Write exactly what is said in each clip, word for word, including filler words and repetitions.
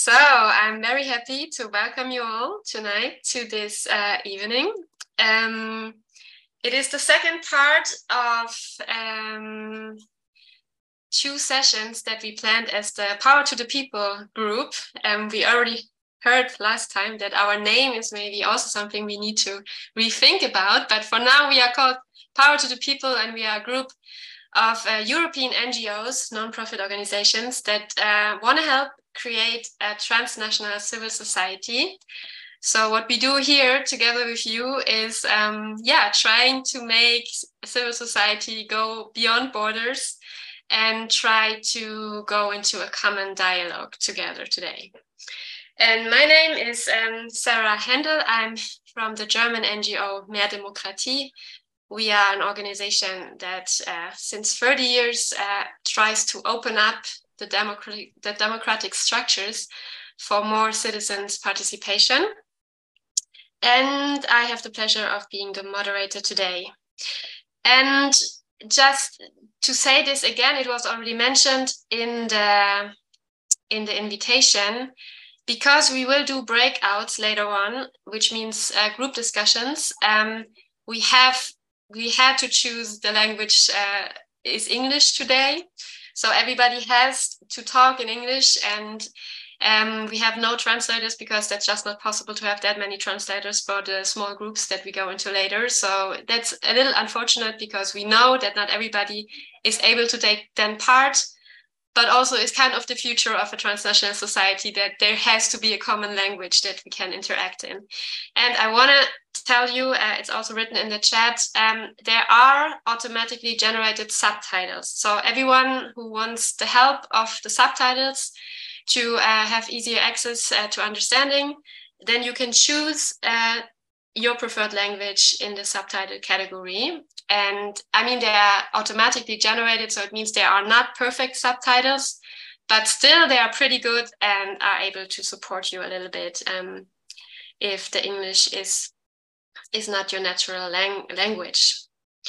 So I'm very happy to welcome you all tonight to this uh, evening. Um, it is the second part of um, two sessions that we planned as the Power to the People group. Um, we already heard last time that our name is maybe also something we need to rethink about, but for now we are called Power to the People, and we are a group of uh, European N G Os, non-profit organizations that uh, want to help create a transnational civil society. So what we do here together with you is, um, yeah, trying to make civil society go beyond borders and try to go into a common dialogue together today. And my name is um, Sarah Händel. I'm from the German N G O Mehr Demokratie. We are an organization that uh, since thirty years uh, tries to open up the democratic, the democratic structures for more citizens' participation. And I have the pleasure of being the moderator today. And just to say this again, it was already mentioned in the, in the invitation, because we will do breakouts later on, which means uh, group discussions. Um, we have we had to choose the language uh, is English today. So everybody has to talk in English, and um, we have no translators because that's just not possible to have that many translators for the small groups that we go into later. So that's a little unfortunate because we know that not everybody is able to take then part, but also it's kind of the future of a transnational society that there has to be a common language that we can interact in. And I want to tell you, uh, it's also written in the chat, um, there are automatically generated subtitles. So everyone who wants the help of the subtitles to uh, have easier access uh, to understanding, then you can choose uh, your preferred language in the subtitle category. And I mean, they are automatically generated, so it means they are not perfect subtitles, but still they are pretty good and are able to support you a little bit um, if the English is, is not your natural lang language.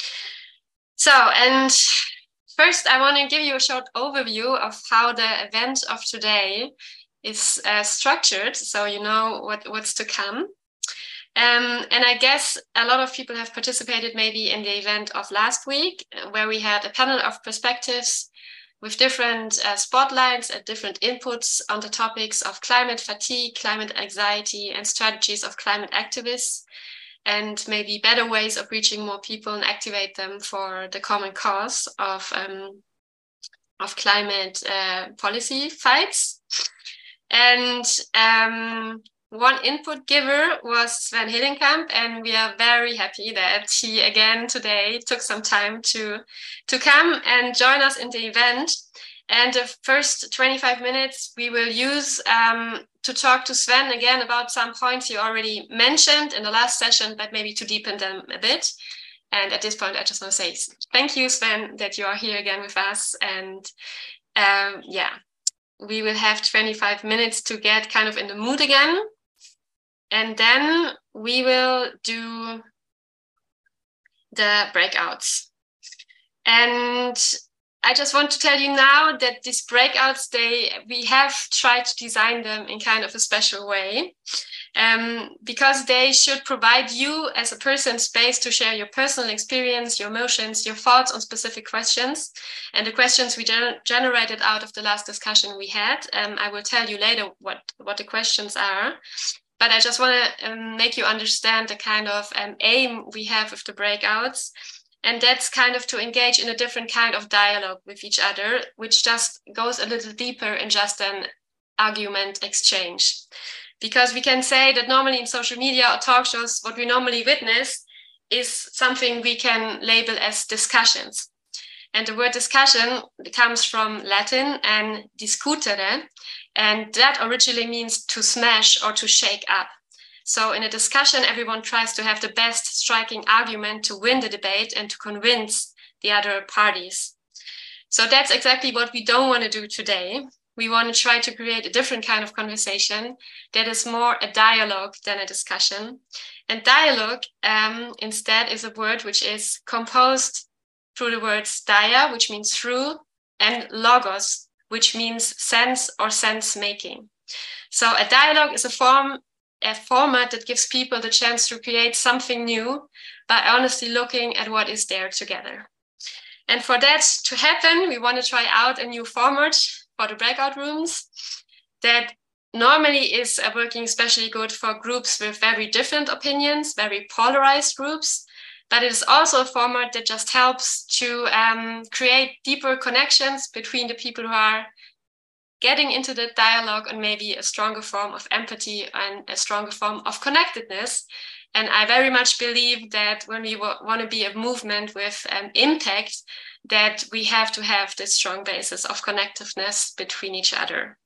So, and first I want to give you a short overview of how the event of today is uh, structured, so you know what, what's to come. Um, and I guess a lot of people have participated maybe in the event of last week, where we had a panel of perspectives with different uh, spotlights and different inputs on the topics of climate fatigue, climate anxiety, and strategies of climate activists, and maybe better ways of reaching more people and activate them for the common cause of, um, of climate uh, policy fights. And um, one input giver was Sven Hillenkamp, and we are very happy that he again today took some time to, to come and join us in the event. And the first twenty-five minutes we will use um, to talk to Sven again about some points you already mentioned in the last session, but maybe to deepen them a bit. And at this point, I just want to say thank you, Sven, that you are here again with us. And um, yeah, we will have twenty-five minutes to get kind of in the mood again. And then we will do the breakouts. And I just want to tell you now that these breakouts, they we have tried to design them in kind of a special way, um, because they should provide you as a person space to share your personal experience, your emotions, your thoughts on specific questions. And the questions we gener generated out of the last discussion we had, um, I will tell you later what, what the questions are. But I just want to um, make you understand the kind of um, aim we have with the breakouts. And that's kind of to engage in a different kind of dialogue with each other, which just goes a little deeper in just an argument exchange. Because we can say that normally in social media or talk shows, what we normally witness is something we can label as discussions. And the word discussion comes from Latin and discutere, and that originally means to smash or to shake up. So in a discussion, everyone tries to have the best striking argument to win the debate and to convince the other parties. So that's exactly what we don't want to do today. We want to try to create a different kind of conversation that is more a dialogue than a discussion. And dialogue um, instead is a word which is composed through the words dia, which means through, and logos, which means sense or sense making. So a dialogue is a form, a format that gives people the chance to create something new by honestly looking at what is there together. And for that to happen, we want to try out a new format for the breakout rooms that normally is uh, working especially good for groups with very different opinions, very polarized groups. But it is also a format that just helps to um, create deeper connections between the people who are getting into the dialogue, and maybe a stronger form of empathy and a stronger form of connectedness. And I very much believe that when we want to be a movement with um, impact, that we have to have this strong basis of connectiveness between each other.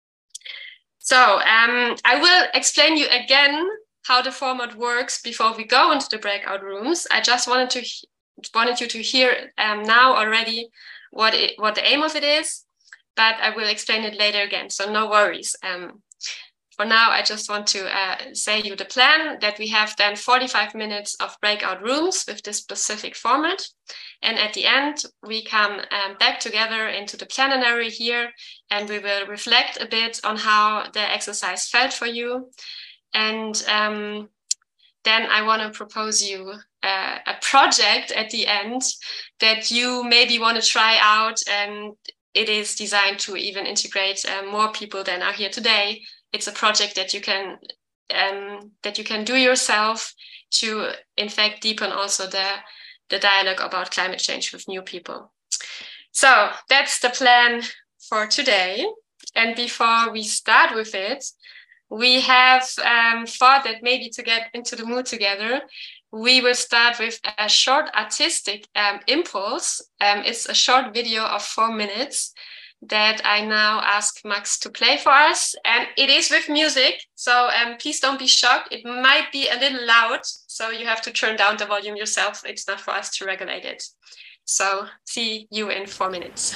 So um, I will explain you again how the format works before we go into the breakout rooms. I just wanted to wanted you to hear um, now already what it, what the aim of it is, but I will explain it later again, so no worries. Um, for now, I just want to uh, say you the plan, that we have then forty-five minutes of breakout rooms with this specific format. And at the end, we come um, back together into the plenary here, and we will reflect a bit on how the exercise felt for you. And um, then I want to propose you uh, a project at the end that you maybe want to try out, and it is designed to even integrate uh, more people than are here today. It's a project that you can um, that you can do yourself to, in fact, deepen also the, the dialogue about climate change with new people. So that's the plan for today. And before we start with it, we have um, thought that maybe to get into the mood together, we will start with a short artistic um, impulse. Um, it's a short video of four minutes that I now ask Max to play for us. And it is with music, so um, please don't be shocked. It might be a little loud, so you have to turn down the volume yourself. It's not for us to regulate it. So see you in four minutes.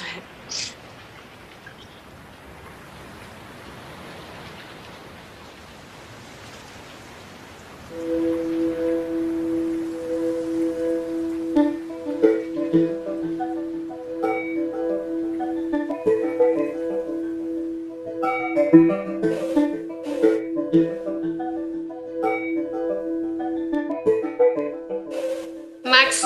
Max.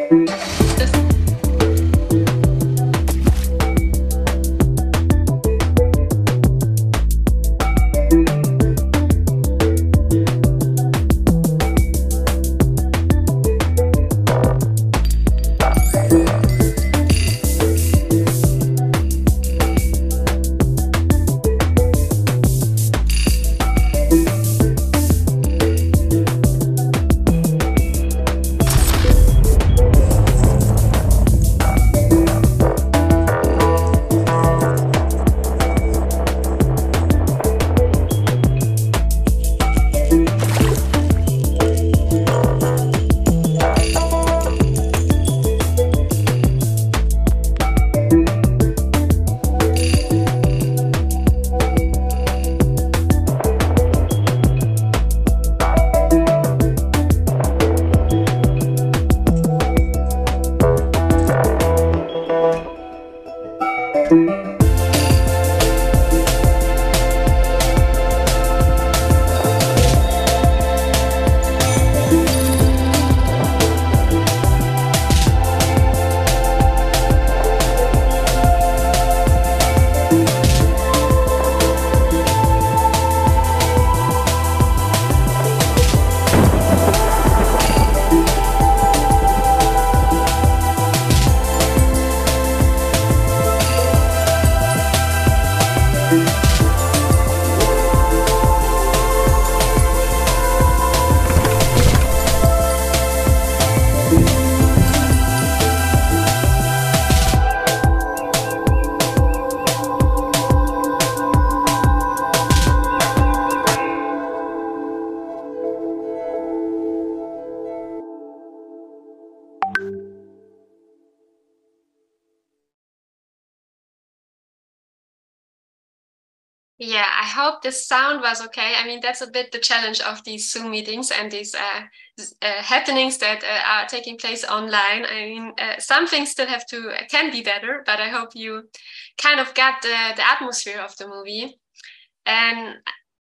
Yeah, I hope the sound was okay. I mean, that's a bit the challenge of these Zoom meetings and these uh, uh, happenings that uh, are taking place online. I mean, uh, some things still have to, uh, can be better, but I hope you kind of got the, the atmosphere of the movie. And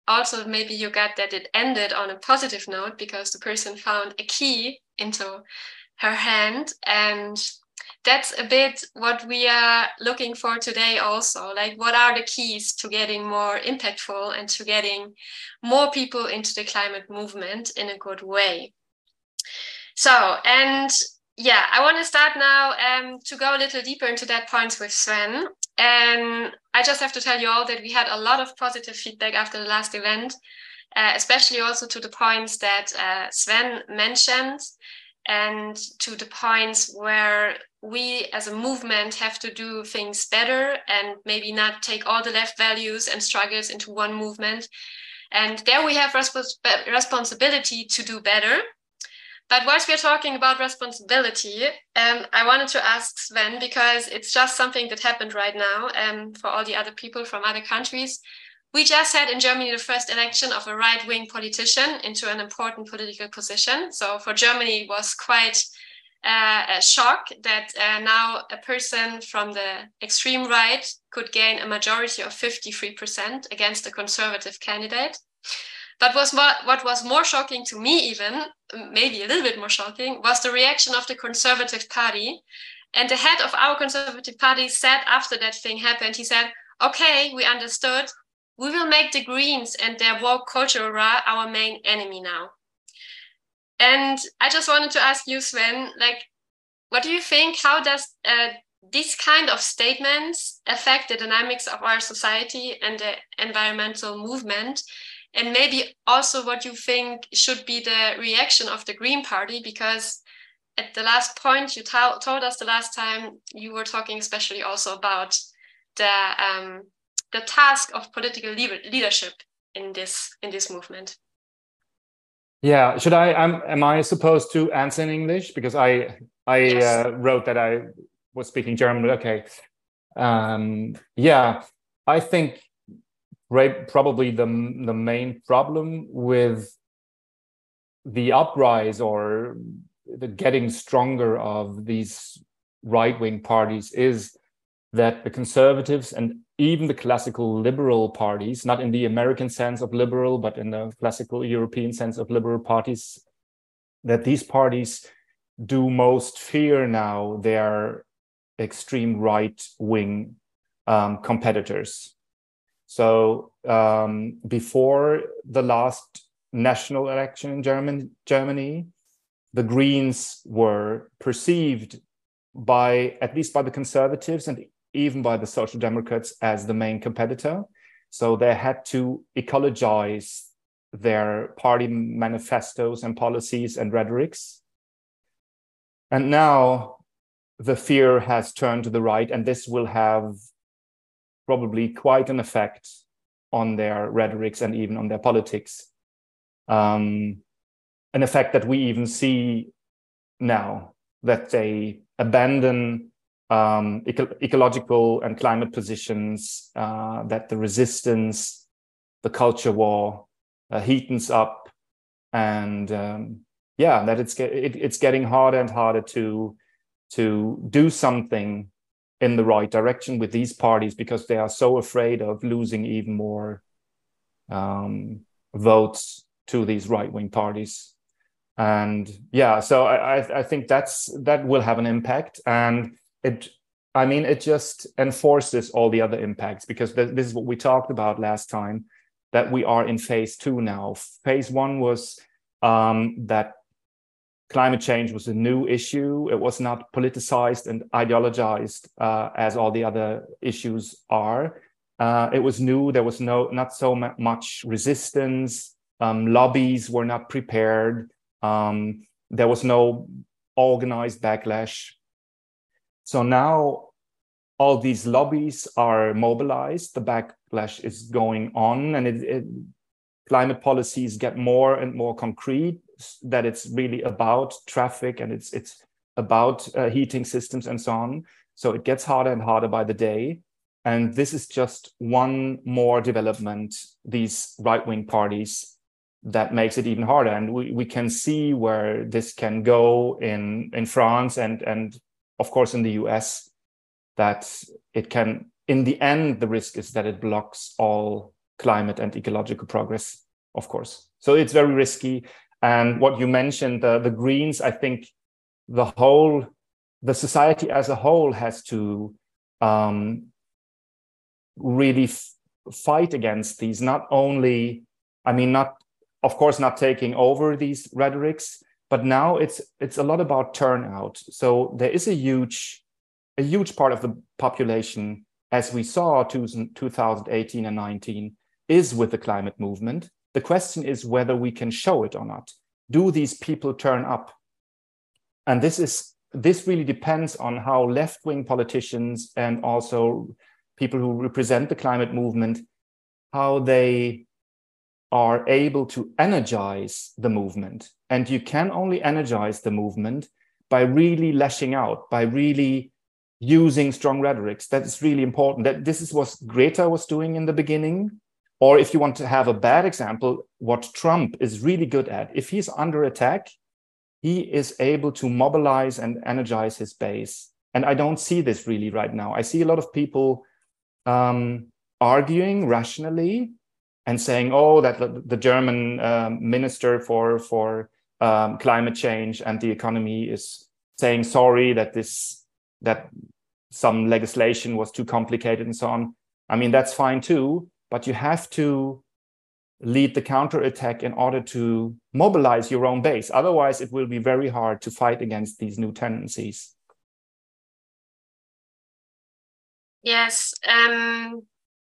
also maybe you got that it ended on a positive note because the person found a key into her hand. And that's a bit what we are looking for today also. Like, what are the keys to getting more impactful and to getting more people into the climate movement in a good way? So, and yeah, I want to start now um, to go a little deeper into that point with Sven. And I just have to tell you all that we had a lot of positive feedback after the last event, uh, especially also to the points that uh, Sven mentioned, and to the points where we as a movement have to do things better and maybe not take all the left values and struggles into one movement. And there we have respons- responsibility to do better. But whilst we're talking about responsibility, um, I wanted to ask Sven, because it's just something that happened right now um, for all the other people from other countries. We just had in Germany the first election of a right-wing politician into an important political position. So for Germany, it was quite uh, a shock that uh, now a person from the extreme right could gain a majority of fifty-three percent against a conservative candidate. But was more, what was more shocking to me even, maybe a little bit more shocking, was the reaction of the Conservative Party. And the head of our Conservative Party said after that thing happened, he said, okay, we understood. We will make the Greens and their woke culture our main enemy now. And I just wanted to ask you, Sven, like, what do you think? How does uh, these kind of statements affect the dynamics of our society and the environmental movement? And maybe also what you think should be the reaction of the Green Party, because at the last point you t- told us the last time, you were talking especially also about the um, the task of political le- leadership in this in this movement. Yeah, should I? Am, am I supposed to answer in English, because I I yes. uh, wrote that I was speaking German? Okay. Um, yeah, I think. Right, probably the the main problem with the uprise or the getting stronger of these right-wing parties is that the conservatives and even the classical liberal parties, not in the American sense of liberal, but in the classical European sense of liberal parties, that these parties do most fear now their extreme right-wing um, competitors. So um, before the last national election in German, Germany, the Greens were perceived by, at least by the conservatives and even by the Social Democrats, as the main competitor. So they had to ecologize their party manifestos and policies and rhetorics. And now the fear has turned to the right, and this will have probably quite an effect on their rhetorics and even on their politics. Um, an effect that we even see now, that they abandon um, eco- ecological and climate positions, uh, that the resistance, the culture war uh, heatens up, and um, yeah, that it's, it, it's getting harder and harder to, to do something in the right direction with these parties, because they are so afraid of losing even more um, votes to these right-wing parties. And yeah, so I, I think that's that will have an impact, and it, I mean, it just enforces all the other impacts, because th- this is what we talked about last time, that we are in phase two now. Phase one was um, that climate change was a new issue. It was not politicized and ideologized uh, as all the other issues are. Uh, it was new. There was no not so much resistance. Um, lobbies were not prepared. Um, there was no organized backlash. So now all these lobbies are mobilized. The backlash is going on, and it, it, climate policies get more and more concrete, that it's really about traffic and it's it's about uh, heating systems and so on. So it gets harder and harder by the day. And this is just one more development, these right-wing parties, that makes it even harder. And we, we can see where this can go in, in France and, and of course in the U S, that it can, in the end, the risk is that it blocks all climate and ecological progress, of course. So it's very risky. And what you mentioned, uh, the Greens, I think the whole, the society as a whole has to um, really f- fight against these, not only, I mean, not, of course, not taking over these rhetorics, but now it's it's a lot about turnout. So there is a huge, a huge part of the population, as we saw two thousand eighteen and nineteen, is with the climate movement. The question is whether we can show it or not. Do these people turn up? And this is this really depends on how left-wing politicians and also people who represent the climate movement, how they are able to energize the movement. And you can only energize the movement by really lashing out, by really using strong rhetorics. That is really important. That this is what Greta was doing in the beginning. Or if you want to have a bad example, what Trump is really good at. If he's under attack, he is able to mobilize and energize his base. And I don't see this really right now. I see a lot of people um, arguing rationally and saying, oh, that the, the German um, minister for, for um, climate change and the economy is saying sorry that this that some legislation was too complicated and so on. I mean, that's fine too, but you have to lead the counterattack in order to mobilize your own base. Otherwise, it will be very hard to fight against these new tendencies. Yes. Um,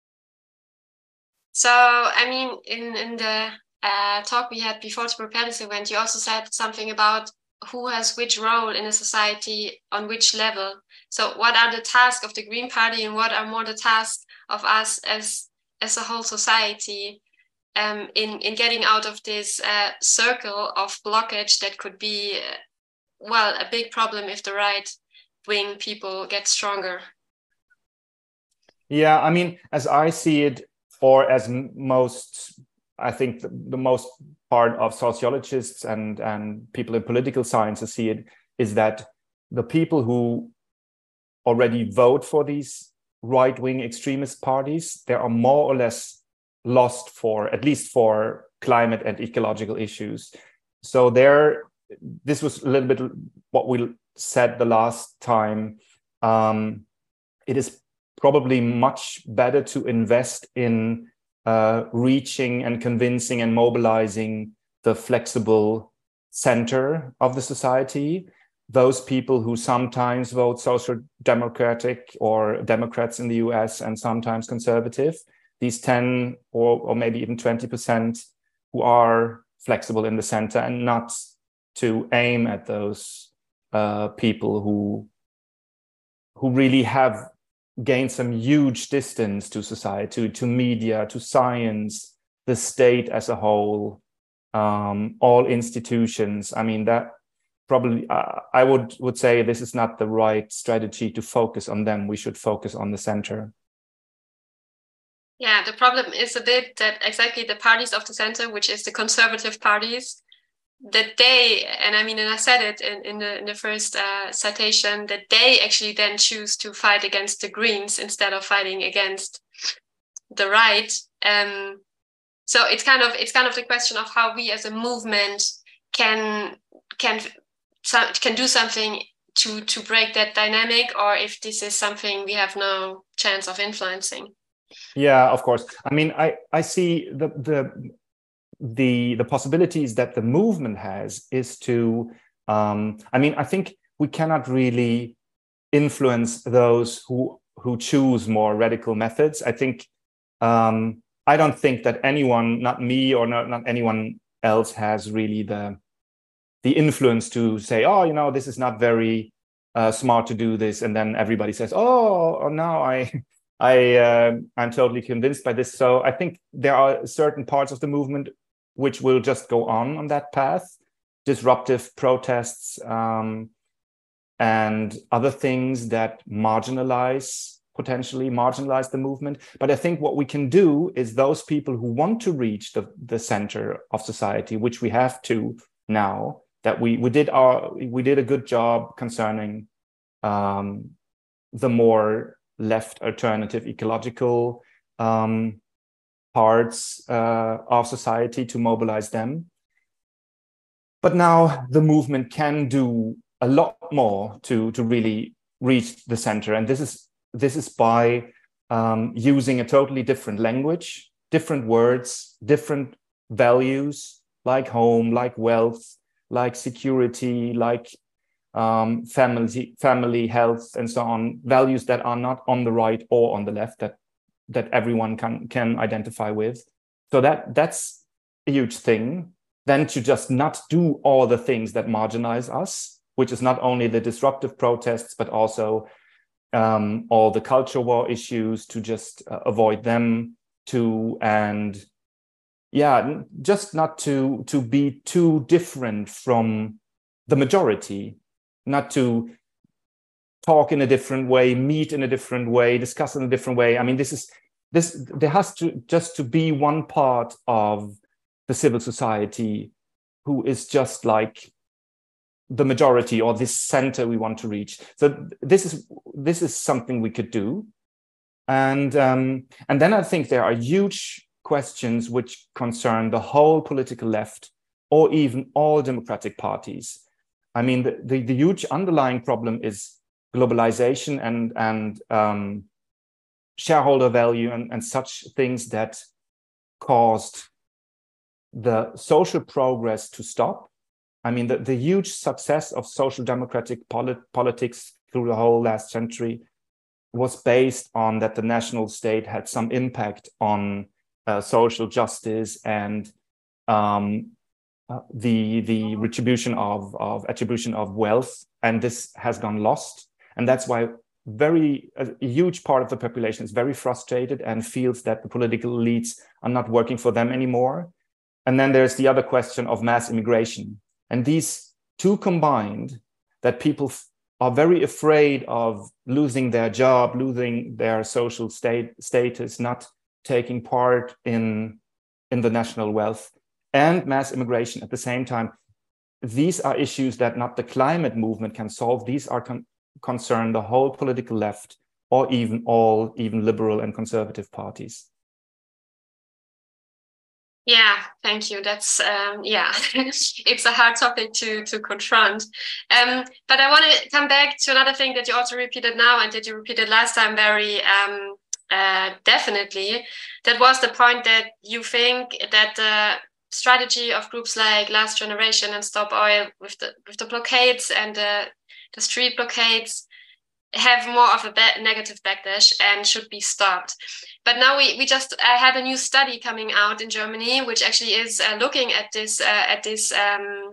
so, I mean, in, in the uh, talk we had before to prepare this event, you also said something about who has which role in a society on which level. So what are the tasks of the Green Party and what are more the tasks of us as, as a whole society um, in, in getting out of this uh, circle of blockage that could be, uh, well, a big problem if the right-wing people get stronger? Yeah, I mean, as I see it, or as most, I think the, the most part of sociologists and, and people in political sciences see it, is that the people who already vote for these right-wing extremist parties, they are more or less lost for, at least for climate and ecological issues. So there, this was a little bit what we said the last time. Um, it is probably much better to invest in uh, reaching and convincing and mobilizing the flexible center of the society, those people who sometimes vote social democratic or Democrats in the U S and sometimes conservative, these ten or, or maybe even twenty percent who are flexible in the center, and not to aim at those uh, people who, who really have gained some huge distance to society, to, to media, to science, the state as a whole, um, all institutions. I mean, that probably, uh, I would, would say this is not the right strategy to focus on them. We should focus on the center. Yeah, the problem is a bit that exactly the parties of the center, which is the conservative parties, that they, and I mean, and I said it in, in the in the first uh, citation, that they actually then choose to fight against the Greens instead of fighting against the right. Um, so it's kind of it's kind of the question of how we as a movement can can can do something to to break that dynamic, or if this is something we have no chance of influencing. Yeah, of course. I mean, I I see the the. the the possibilities that the movement has is to um I mean, I think we cannot really influence those who who choose more radical methods. I think um I don't think that anyone, not me or not, not anyone else, has really the the influence to say, oh, you know, this is not very uh, smart to do this, and then everybody says, oh, oh now I I uh, I'm totally convinced by this. So I think there are certain parts of the movement which will just go on on that path, disruptive protests um, and other things that marginalize, potentially marginalize the movement. But I think what we can do is those people who want to reach the, the center of society, which we have to now, that we, we did our we did a good job concerning um, the more left alternative ecological um, parts uh, of society to mobilize them. But now the movement can do a lot more to, to really reach the center. And this is, this is by um, using a totally different language, different words, different values, like home, like wealth, like security, like um, family, family health, and so on, values that are not on the right or on the left, that, that everyone can, can identify with. So that, that's a huge thing. Then to just not do all the things that marginalize us, which is not only the disruptive protests, but also um, all the culture war issues, to just uh, avoid them too. And yeah, just not to, to be too different from the majority, not to talk in a different way, meet in a different way, discuss in a different way. I mean, this is, this, there has to just to be one part of the civil society who is just like the majority, or this center we want to reach. So this is this is something we could do. And um, and then I think there are huge questions which concern the whole political left, or even all democratic parties. I mean, the, the, the huge underlying problem is globalization and, and um, shareholder value and, and such things that caused the social progress to stop. I mean, the, the huge success of social democratic polit politics through the whole last century was based on that the national state had some impact on uh, social justice and um, uh, the, the retribution of, of attribution of wealth. And this has gone lost. And that's why very a, a huge part of the population is very frustrated and feels that the political elites are not working for them anymore. And then there's the other question of mass immigration. And these two combined, that people are very afraid of losing their job, losing their social state, status, not taking part in, in the national wealth, and mass immigration at the same time. These are issues that not the climate movement can solve. These are con concern the whole political left, or even all, even liberal and conservative parties. Yeah, thank you. That's, um, yeah, it's a hard topic to, to confront. Um, but I want to come back to another thing that you also repeated now and that you repeated last time very um, uh, definitely. That was the point that you think that the strategy of groups like Last Generation and Stop Oil with the, with the blockades and the, the street blockades have more of a ba negative backlash and should be stopped. But now we, we just uh, had a new study coming out in Germany, which actually is uh, looking at this uh, at this um,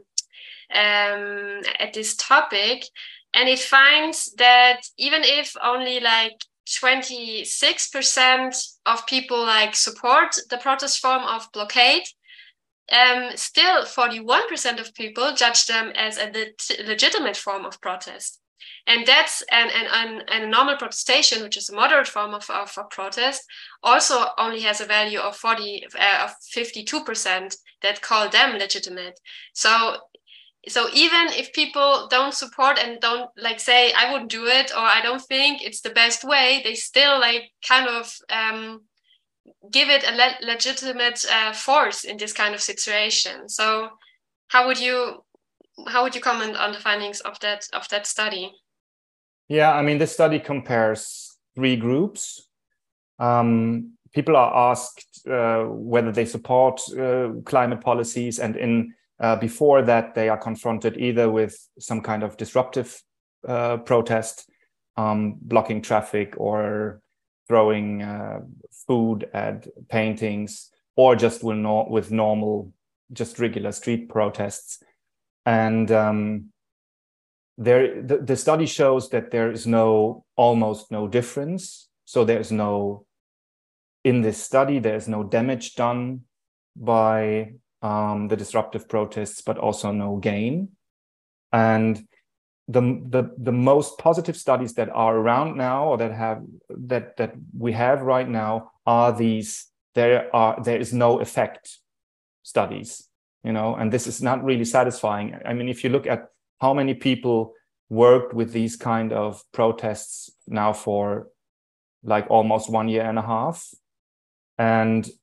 um, at this topic, and it finds that even if only like twenty-six percent of people like support the protest form of blockade, um, still forty-one percent of people judge them as a leg legitimate form of protest. And that's an, an, an, a normal protestation, which is a moderate form of, of, of protest, also only has a value of forty uh, of fifty-two percent that call them legitimate. So, so even if people don't support and don't like say, I wouldn't do it, or I don't think it's the best way, they still like kind of um, give it a le legitimate uh, force in this kind of situation. So, how would you how would you comment on the findings of that of that study? Yeah, I mean, this study compares three groups. Um, people are asked uh, whether they support uh, climate policies, and in uh, before that, they are confronted either with some kind of disruptive uh, protest, um, blocking traffic or throwing uh, food at paintings, or just with, no with normal, just regular street protests. And um, There, the, the study shows that there is no, almost no difference. So there's no, in this study, there's no damage done by um, the disruptive protests, but also no gain. And the, the, the most positive studies that are around now, or that have, that, that we have right now, are these, there are, there is no effect studies, you know, and this is not really satisfying. I mean, if you look at how many people worked with these kind of protests now for like almost one year and a half, and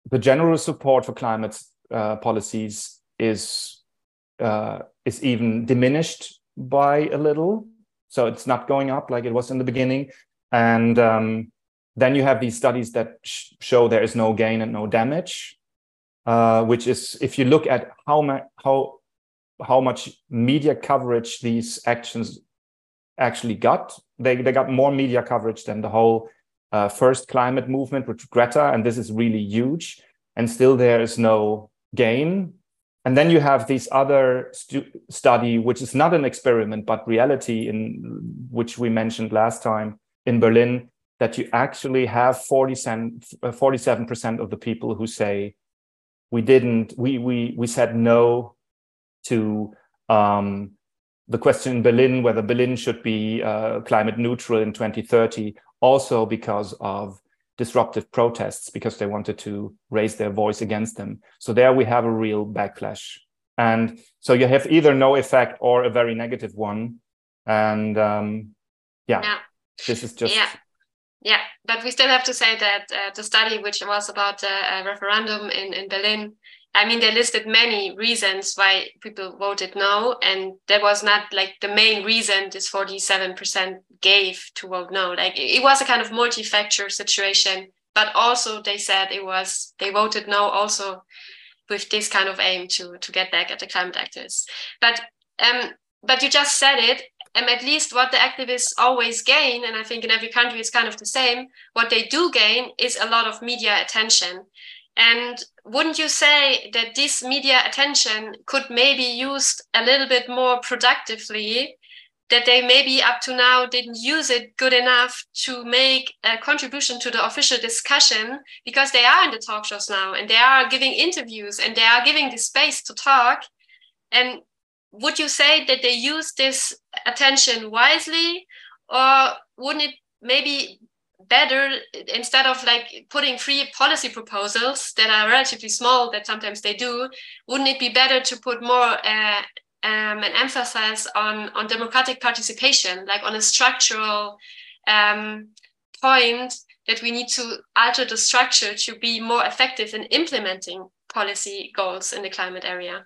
the general support for climate uh, policies is uh, is even diminished by a little. So it's not going up like it was in the beginning. And um, then you have these studies that sh show there is no gain and no damage, uh, which is, if you look at how, how, how much media coverage these actions actually got, they, they got more media coverage than the whole uh, first climate movement with Greta, and this is really huge, and still there is no gain. And then you have this other stu study, which is not an experiment, but reality, in which we mentioned last time in Berlin, that you actually have forty-seven percent of the people who say, we didn't, we, we, we said no to um, the question in Berlin, whether Berlin should be uh, climate neutral in twenty thirty, also because of disruptive protests, because they wanted to raise their voice against them. So there we have a real backlash. And so you have either no effect or a very negative one. And um, yeah, yeah, this is just... Yeah. Yeah, but we still have to say that uh, the study, which was about the uh, referendum in, in Berlin, I mean, they listed many reasons why people voted no, and there was not like the main reason this forty-seven percent gave to vote no. Like it, it was a kind of multi-factor situation, but also they said it was, they voted no also with this kind of aim to, to get back at the climate activists. But, um, but you just said it, and at least what the activists always gain, and I think in every country it's kind of the same, what they do gain is a lot of media attention. And wouldn't you say that this media attention could maybe used a little bit more productively, that they maybe up to now didn't use it good enough to make a contribution to the official discussion, because they are in the talk shows now and they are giving interviews and they are giving the space to talk? And would you say that they use this attention wisely, or wouldn't it maybe better, instead of like putting free policy proposals that are relatively small, that sometimes they do, wouldn't it be better to put more uh, um, an emphasis on, on democratic participation, like on a structural um, point, that we need to alter the structure to be more effective in implementing policy goals in the climate area?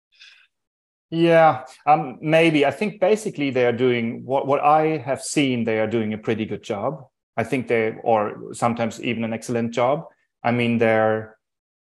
Yeah, um, maybe. I think basically they are doing what, what I have seen, they are doing a pretty good job. I think they, or sometimes even an excellent job. I mean, they're,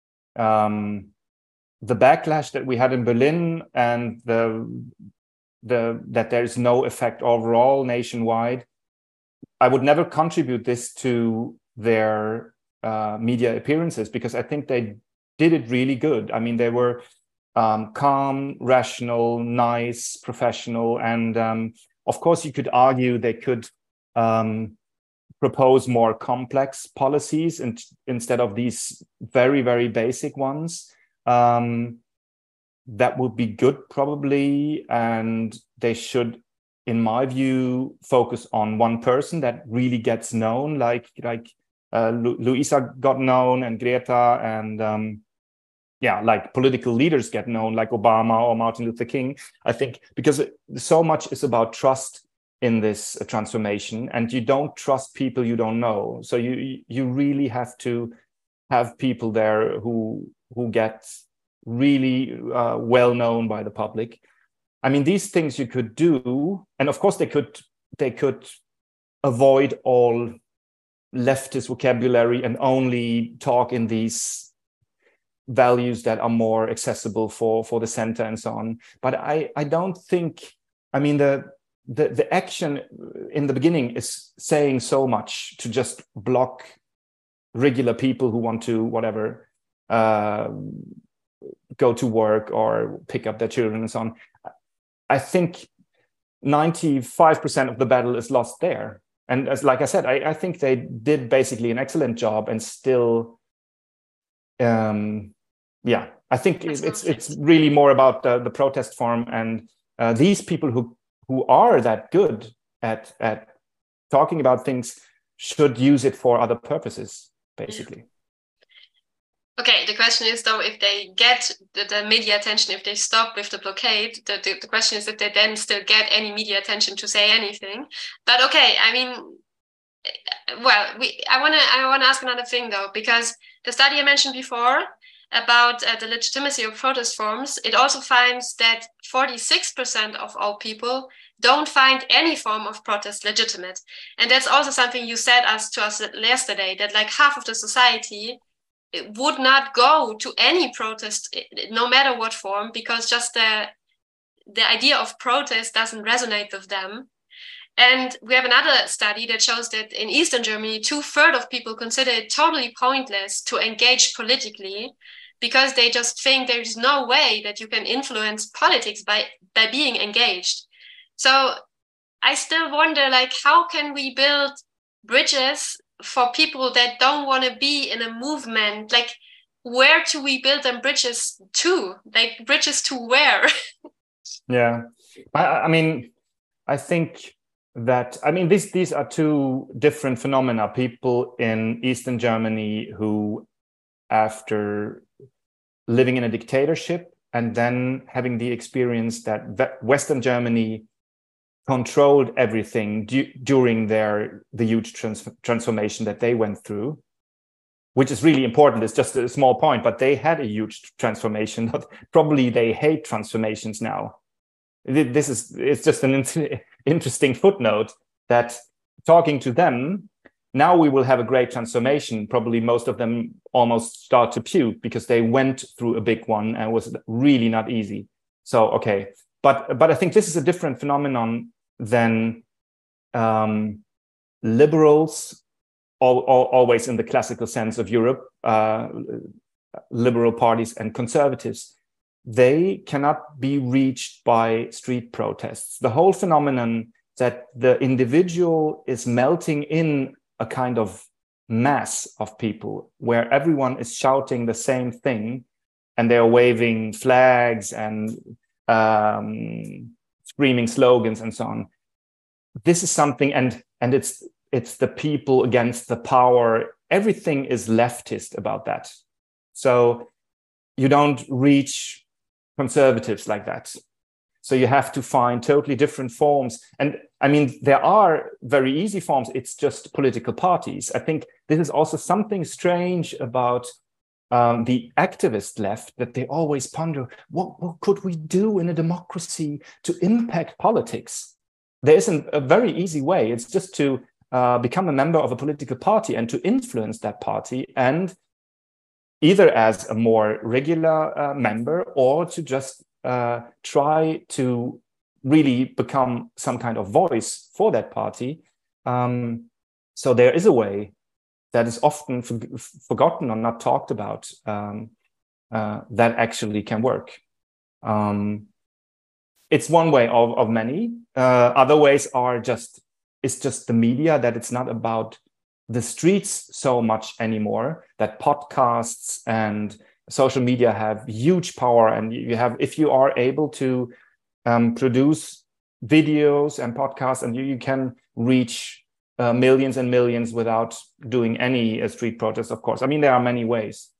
um, the backlash that we had in Berlin and the, the, that there is no effect overall nationwide, I would never contribute this to their uh, media appearances, because I think they did it really good. I mean, they were Um, calm, rational, nice, professional. And um, of course, you could argue they could um, propose more complex policies and, instead of these very, very basic ones. Um, that would be good, probably. And they should, in my view, focus on one person that really gets known, like, like uh, Lu Luisa got known, and Greta, and um, yeah, like political leaders get known, like Obama or Martin Luther King. I think because so much is about trust in this uh, transformation, and you don't trust people you don't know. So you you really have to have people there who who get really uh, well known by the public. I mean, these things you could do, and of course they could they could avoid all leftist vocabulary and only talk in these values that are more accessible for for the center and so on. But I I don't think, I mean, the the the action in the beginning is saying so much to just block regular people who want to whatever uh, go to work or pick up their children and so on. I think ninety-five percent of the battle is lost there. And as like I said, I, I think they did basically an excellent job, and still um yeah, I think it's it's, it's really more about the, the protest form, and uh, these people who who are that good at at talking about things should use it for other purposes, basically. Okay, the question is though, if they get the, the media attention, if they stop with the blockade, the, the, the question is if they then still get any media attention to say anything. But okay, I mean, well, we, I want to I want to ask another thing though, because the study I mentioned before about uh, the legitimacy of protest forms, it also finds that forty-six percent of all people don't find any form of protest legitimate. And that's also something you said us to us yesterday, that like half of the society would not go to any protest, no matter what form, because just the, the idea of protest doesn't resonate with them. And we have another study that shows that in Eastern Germany, two-thirds of people consider it totally pointless to engage politically, because they just think there's no way that you can influence politics by, by being engaged. So I still wonder, like, how can we build bridges for people that don't want to be in a movement? Like, where do we build them bridges to? Like, bridges to where? Yeah, I, I mean, I think that, I mean, these, these are two different phenomena. People in Eastern Germany who, after living in a dictatorship and then having the experience that Western Germany controlled everything du- during their the huge trans- transformation that they went through, which is really important. It's just a small point, but they had a huge transformation. Probably they hate transformations now. This is it's just an in- interesting footnote that talking to them, now we will have a great transformation. Probably most of them almost start to puke because they went through a big one and it was really not easy. So, okay. But, but I think this is a different phenomenon than um, liberals, all, all, always in the classical sense of Europe, uh, liberal parties and conservatives. They cannot be reached by street protests. The whole phenomenon that the individual is melting in a kind of mass of people where everyone is shouting the same thing and they're waving flags and um, screaming slogans and so on. This is something, and and it's it's the people against the power. Everything is leftist about that. So you don't reach conservatives like that. So you have to find totally different forms. And I mean, there are very easy forms. It's just political parties. I think this is also something strange about um, the activist left, that they always ponder, what, what could we do in a democracy to impact politics? There isn't a very easy way. It's just to uh, become a member of a political party and to influence that party, and either as a more regular uh, member or to just uh, try to really become some kind of voice for that party. Um, so there is a way that is often for, forgotten or not talked about um, uh, that actually can work. Um, it's one way of, of many. Uh, other ways are just, it's just the media, that it's not about the streets so much anymore, that podcasts and social media have huge power. And you have, if you are able to um, produce videos and podcasts, and you, you can reach uh, millions and millions without doing any uh, street protest, of course. I mean, there are many ways.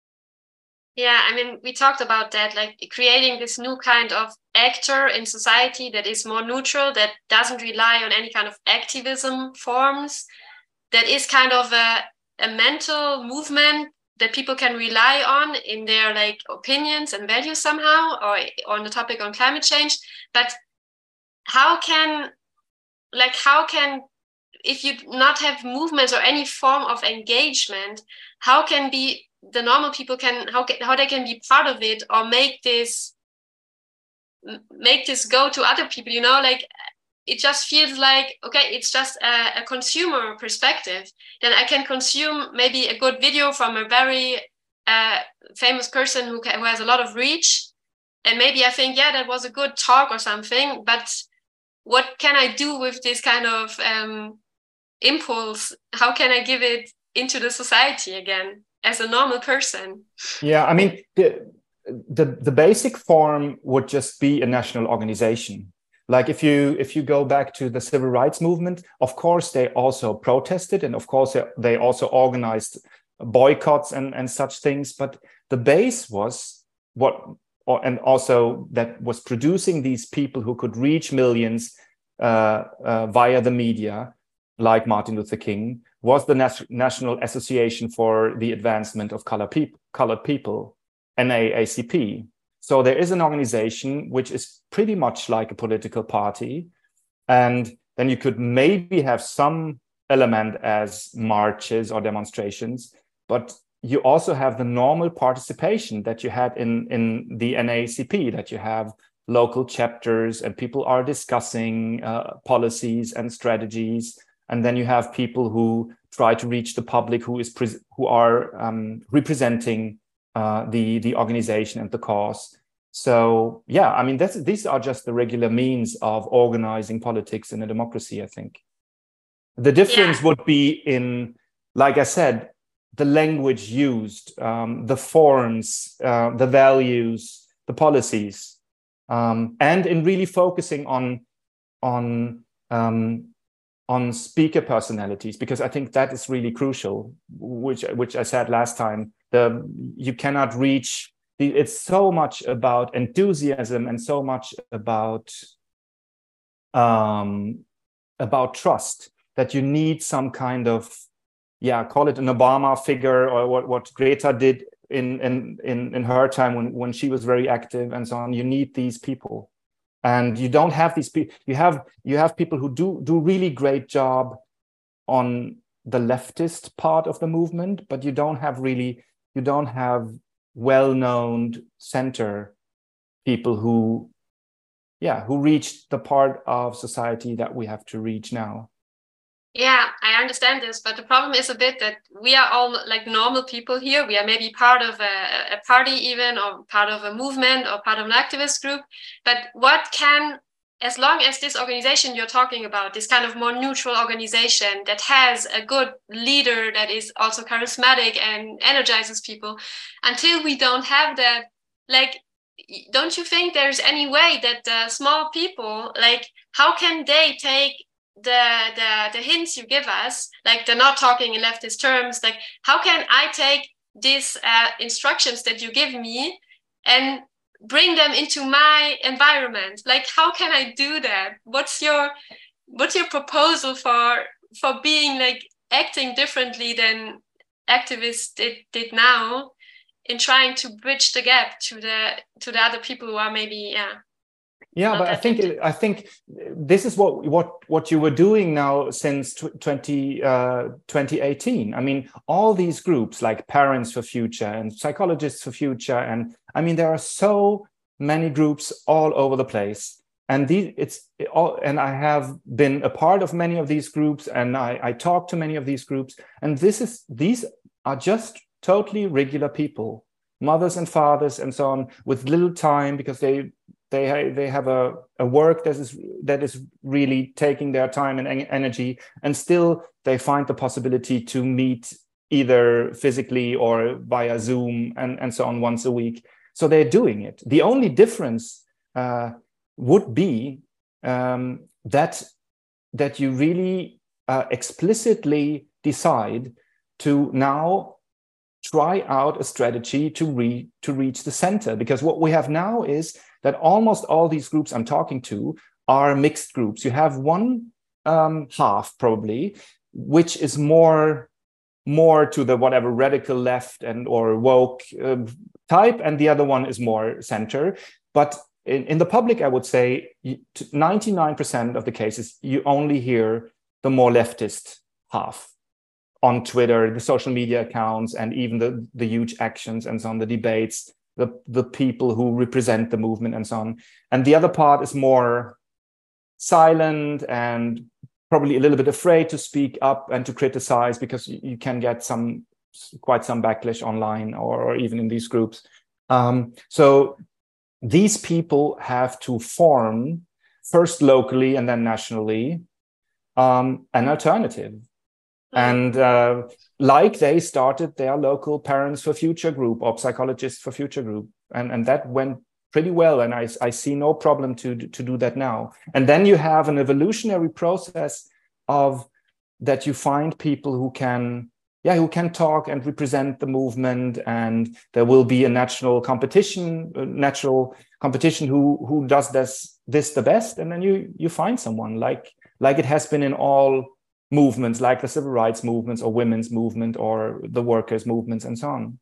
Yeah, I mean, we talked about that, like creating this new kind of actor in society that is more neutral, that doesn't rely on any kind of activism forms, that is kind of a, a mental movement that people can rely on in their like opinions and values somehow, or on the topic on climate change. But how can, like, how can, if you not have movements or any form of engagement, how can be the normal people can, how can, how they can be part of it, or make this, make this go to other people, you know, like, it just feels like, okay, it's just a, a consumer perspective. Then I can consume maybe a good video from a very uh, famous person who, can, who has a lot of reach. And maybe I think, yeah, that was a good talk or something. But what can I do with this kind of um, impulse? How can I give it into the society again as a normal person? Yeah, I mean, the, the, the basic form would just be a national organization. Like if you if you go back to the civil rights movement, of course, they also protested, and of course, they also organized boycotts and, and such things. But the base was what, or, and also that was producing these people who could reach millions uh, uh, via the media, like Martin Luther King, was the Nas- National Association for the Advancement of Color Peop- Colored People, N double A C P. So there is an organization which is pretty much like a political party. And then you could maybe have some element as marches or demonstrations, but you also have the normal participation that you had in, in the N double A C P, that you have local chapters and people are discussing uh, policies and strategies. And then you have people who try to reach the public who is pre- who are um, representing uh, the, the organization and the cause. So, yeah, I mean, that's, these are just the regular means of organizing politics in a democracy, I think. The difference yeah. would be in, like I said, the language used, um, the forms, uh, the values, the policies, um, and in really focusing on, on, um, on speaker personalities, because I think that is really crucial, which, which I said last time. The, you cannot reach, the, it's so much about enthusiasm and so much about, um, about trust, that you need some kind of, yeah, call it an Obama figure, or what, what Greta did in, in, in, in her time when, when she was very active and so on. You need these people. And you don't have these people, you have, you have people who do, do really great job on the leftist part of the movement, but you don't have really, you don't have well-known center people who, yeah, who reach the part of society that we have to reach now. Yeah, I understand this, but the problem is a bit that we are all like normal people here. We are maybe part of a, a party even, or part of a movement, or part of an activist group. But what can, as long as this organization you're talking about, this kind of more neutral organization that has a good leader that is also charismatic and energizes people, until we don't have that, like, don't you think there's any way that the small people, like, how can they take the the the hints you give us, like they're not talking in leftist terms, like how can I take these uh, instructions that you give me and bring them into my environment? Like, how can I do that? What's your what's your proposal for for being like acting differently than activists did, did now, in trying to bridge the gap to the to the other people who are maybe yeah Yeah, but I think it, I think this is what what what you were doing now since twenty eighteen. I mean, all these groups like Parents for Future and Psychologists for Future, and I mean there are so many groups all over the place. And these it's all, and I have been a part of many of these groups, and I, I talk to many of these groups. And this is these are just totally regular people, mothers and fathers and so on, with little time because they. They, they have a, a work that is that is really taking their time and energy, and still they find the possibility to meet either physically or via Zoom and, and so on once a week. So they're doing it. The only difference uh, would be um, that, that you really uh, explicitly decide to now try out a strategy to, re- to reach the center. Because what we have now is that almost all these groups I'm talking to are mixed groups. You have one um, half probably, which is more, more to the whatever radical left and or woke uh, type, and the other one is more center. But in, in the public, I would say ninety-nine percent of the cases, you only hear the more leftist half on Twitter, the social media accounts, and even the, the huge actions and so on, the debates, the, the people who represent the movement and so on. And the other part is more silent and probably a little bit afraid to speak up and to criticize, because you, you can get some quite some backlash online or, or even in these groups. Um, so these people have to form, first locally and then nationally, um, an alternative. And uh, like they started their local Parents for Future group or Psychologists for Future group. And, and that went pretty well. And I, I see no problem to, to do that now. And then you have an evolutionary process of that you find people who can, yeah, who can talk and represent the movement. And there will be a natural competition, a natural competition who, who does this, this the best. And then you, you find someone like, like it has been in all movements like the civil rights movements or women's movement or the workers' movements and so on.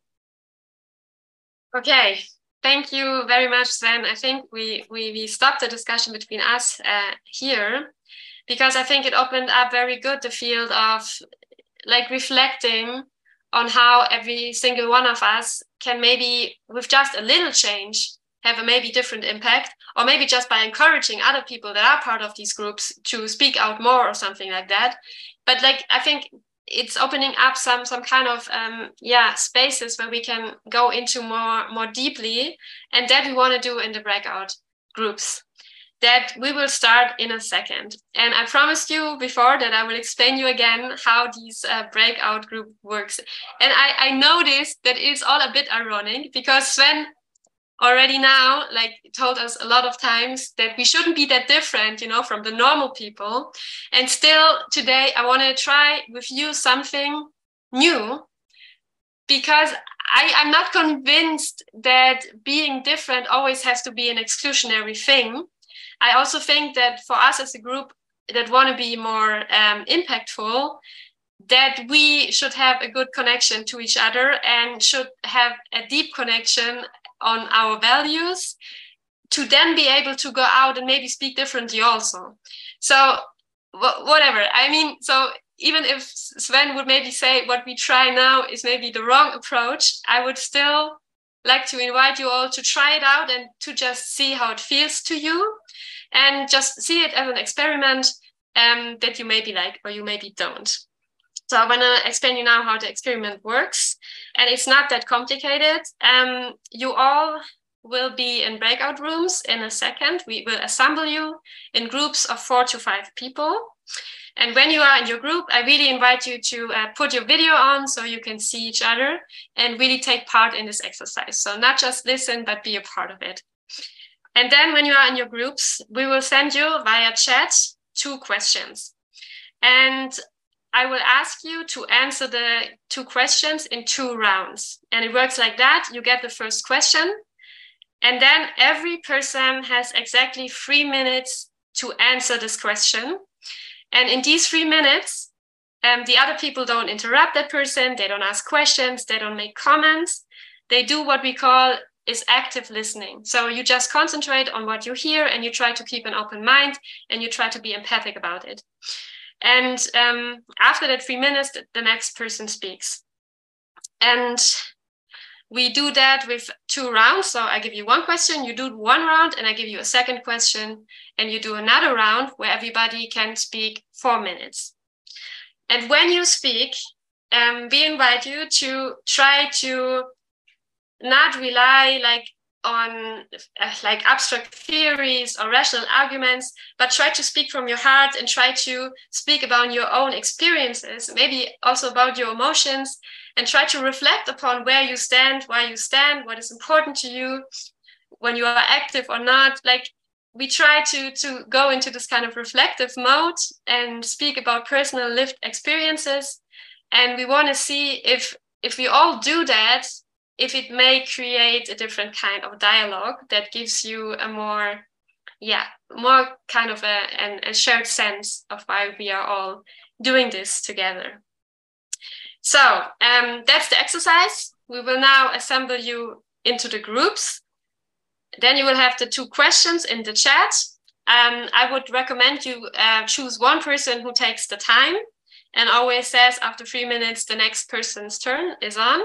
Okay, thank you very much, Sven. I think we, we, we stopped the discussion between us uh, here, because I think it opened up very good the field of like reflecting on how every single one of us can maybe with just a little change have a maybe different impact, or maybe just by encouraging other people that are part of these groups to speak out more or something like that. But like, I think it's opening up some some kind of um, yeah spaces where we can go into more more deeply, and that we want to do in the breakout groups that we will start in a second. And I promised you before that I will explain you again how these uh, breakout group works. And I, I noticed that it's all a bit ironic, because Sven already now like told us a lot of times that we shouldn't be that different, you know, from the normal people. And still today I want to try with you something new, because I, I'm not convinced that being different always has to be an exclusionary thing. I also think that for us as a group that want to be more um, impactful, that we should have a good connection to each other and should have a deep connection on our values to then be able to go out and maybe speak differently also. So wh- whatever, I mean, so even if Sven would maybe say what we try now is maybe the wrong approach, I would still like to invite you all to try it out and to just see how it feels to you, and just see it as an experiment um, that you maybe like or you maybe don't. So I want to explain you now how the experiment works, and it's not that complicated. Um, you all will be in breakout rooms in a second. We will assemble you in groups of four to five people. And when you are in your group, I really invite you to uh, put your video on so you can see each other and really take part in this exercise. So not just listen, but be a part of it. And then when you are in your groups, we will send you via chat two questions. And I will ask you to answer the two questions in two rounds. And it works like that. You get the first question, and then every person has exactly three minutes to answer this question. And in these three minutes, um, the other people don't interrupt that person. They don't ask questions. They don't make comments. They do what we call is active listening. So you just concentrate on what you hear, and you try to keep an open mind, and you try to be empathic about it. And um, after that three minutes, the next person speaks. And we do that with two rounds. So I give you one question, you do one round, and I give you a second question, and you do another round where everybody can speak four minutes. And when you speak, um, we invite you to try to not rely like on uh, like abstract theories or rational arguments, but try to speak from your heart and try to speak about your own experiences, maybe also about your emotions, and try to reflect upon where you stand, why you stand, what is important to you, when you are active or not. Like we try to, to go into this kind of reflective mode and speak about personal lived experiences. And we want to see if, if we all do that, if it may create a different kind of dialogue that gives you a more, yeah, more kind of a, an, a shared sense of why we are all doing this together. So um, that's the exercise. We will now assemble you into the groups. Then you will have the two questions in the chat. Um, I would recommend you uh, choose one person who takes the time and always says after three minutes, the next person's turn is on.